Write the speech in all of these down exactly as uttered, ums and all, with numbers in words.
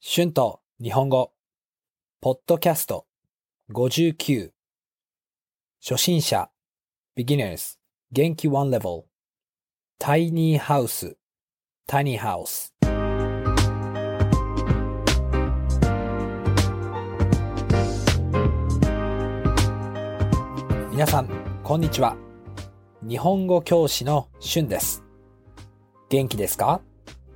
春と日本語、ポッドキャストごじゅうきゅう、初心者、beginners、元気ワンレベル、タイニーハウス、タイニーハウス。皆さん、こんにちは。日本語教師の春です。元気ですか？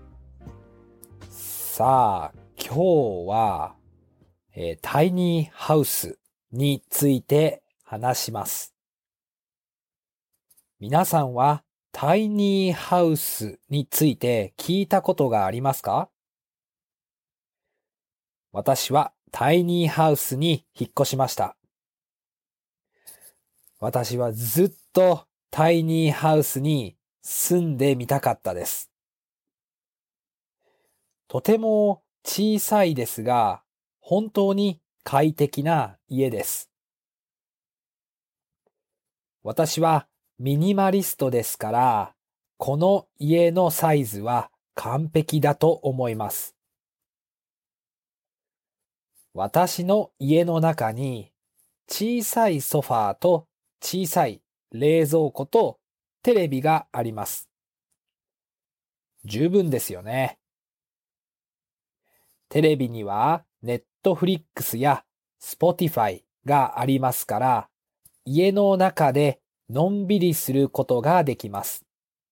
さあ、今日は、えー、タイニーハウスについて話します。皆さんはタイニーハウスについて聞いたことがありますか？私はタイニーハウスに引っ越しました。私はずっとタイニーハウスに住んでみたかったです。とても小さいですが、本当に快適な家です。私はミニマリストですから、この家のサイズは完璧だと思います。私の家の中に小さいソファーと小さい冷蔵庫とテレビがあります。十分ですよね。テレビにはネットフリックスやスポティファイがありますから、家の中でのんびりすることができます。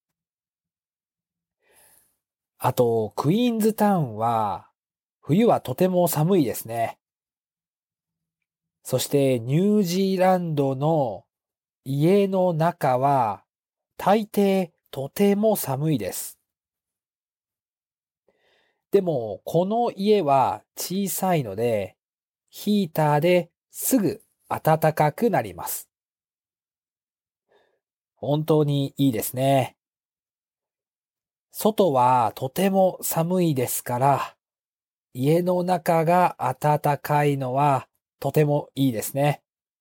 あと、クイーンズタウンは冬はとても寒いですね。そしてニュージーランドの家の中は大抵とても寒いです。でもこの家は小さいのでヒーターですぐ暖かくなります。本当にいいですね。外はとても寒いですから家の中が暖かいのはとてもいいですね。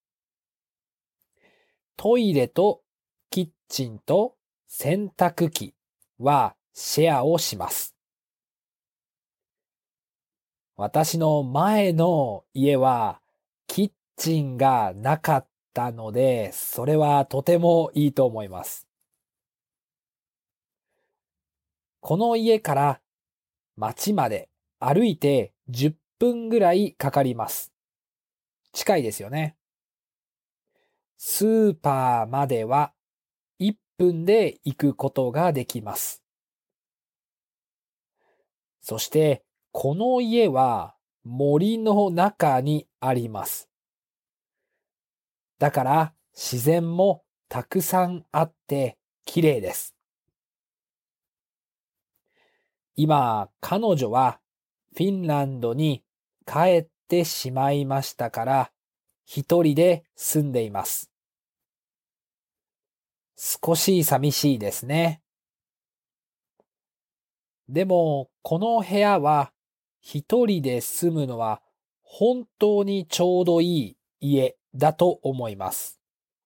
トイレとキッチンと洗濯機はシェアをします。私の前の家はキッチンがなかったので、それはとてもいいと思います。この家から町まで歩いてじゅっぷんぐらいかかります。近いですよね。スーパーまではいっぷんで行くことができます。そしてこの家は森の中にあります。だから自然もたくさんあって綺麗です。今、彼女はフィンランドに帰ってしまいましたから、一人で住んでいます。少し寂しいですね。でも、この部屋は一人で住むのは本当にちょうどいい家だと思います。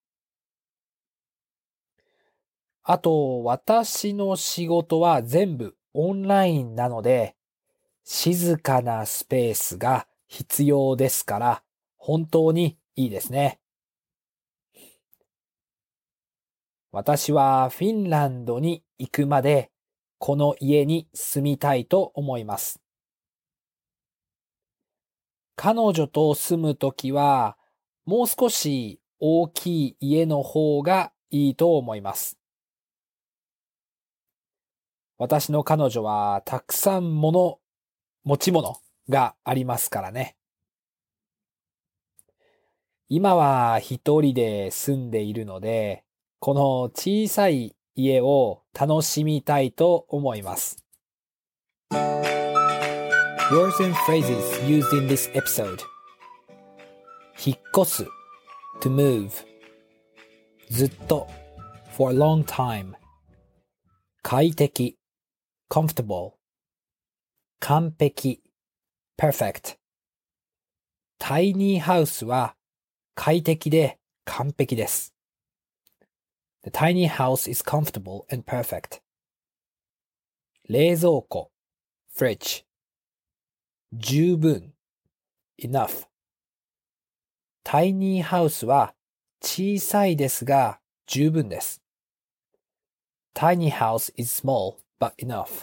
あと、私の仕事は全部オンラインなので、静かなスペースが必要ですから、本当にいいですね。私はフィンランドに行くまで、この家に住みたいと思います。彼女と住むときは、もう少し大きい家の方がいいと思います。私の彼女はたくさん物、持ち物がありますからね。今は一人で住んでいるので、この小さい家を楽しみたいと思います。Words and phrases used in this episode. 引っ越す to move ずっと for a long time 快適 comfortable 完璧 perfect タイニーハウスは快適で完璧です。The tiny house is comfortable and perfect. 冷蔵庫 fridge 十分 enough。タイニーハウスは小さいですが十分です。Tiny house is small but enough.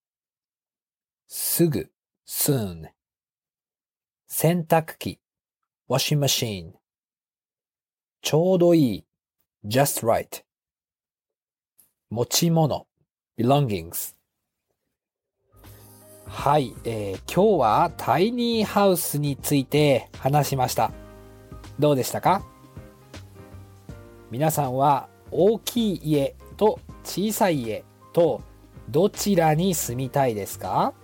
すぐ soon。洗濯機 washing machine。ちょうどいい just right。持ち物 belongings。はい、えー、今日はタイニーハウスについて話しました。どうでしたか？皆さんは大きい家と小さい家とどちらに住みたいですか？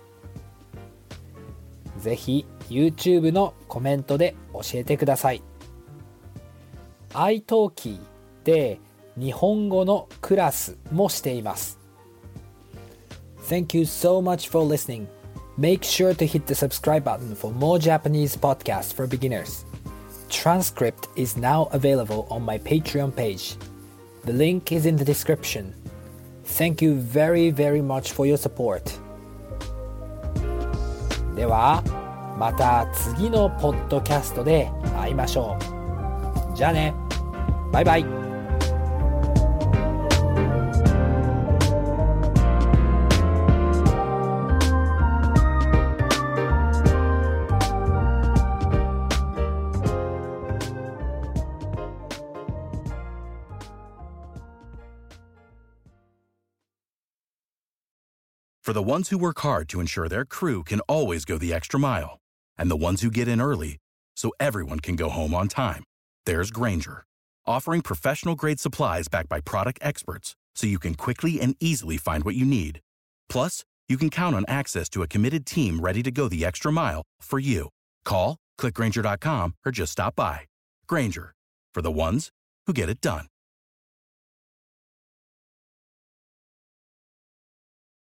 ぜひ YouTube のコメントで教えてください。iTalki で日本語のクラスもしています。Thank you so much for listening. Make sure to hit the subscribe button for more Japanese podcasts for beginners. Transcript is now available on my Patreon page. The link is in the description. Thank you very, very much for your support. では、また次のポッドキャストで会いましょう。じゃあね。バイバイ。 For the ones who work hard to ensure their crew can always go the extra mile, and the ones who get in early so everyone can go home on time, there's Grainger, offering professional-grade supplies backed by product experts so you can quickly and easily find what you need. Plus, you can count on access to a committed team ready to go the extra mile for you. Call, click Grainger dot com, or just stop by. Grainger, for the ones who get it done.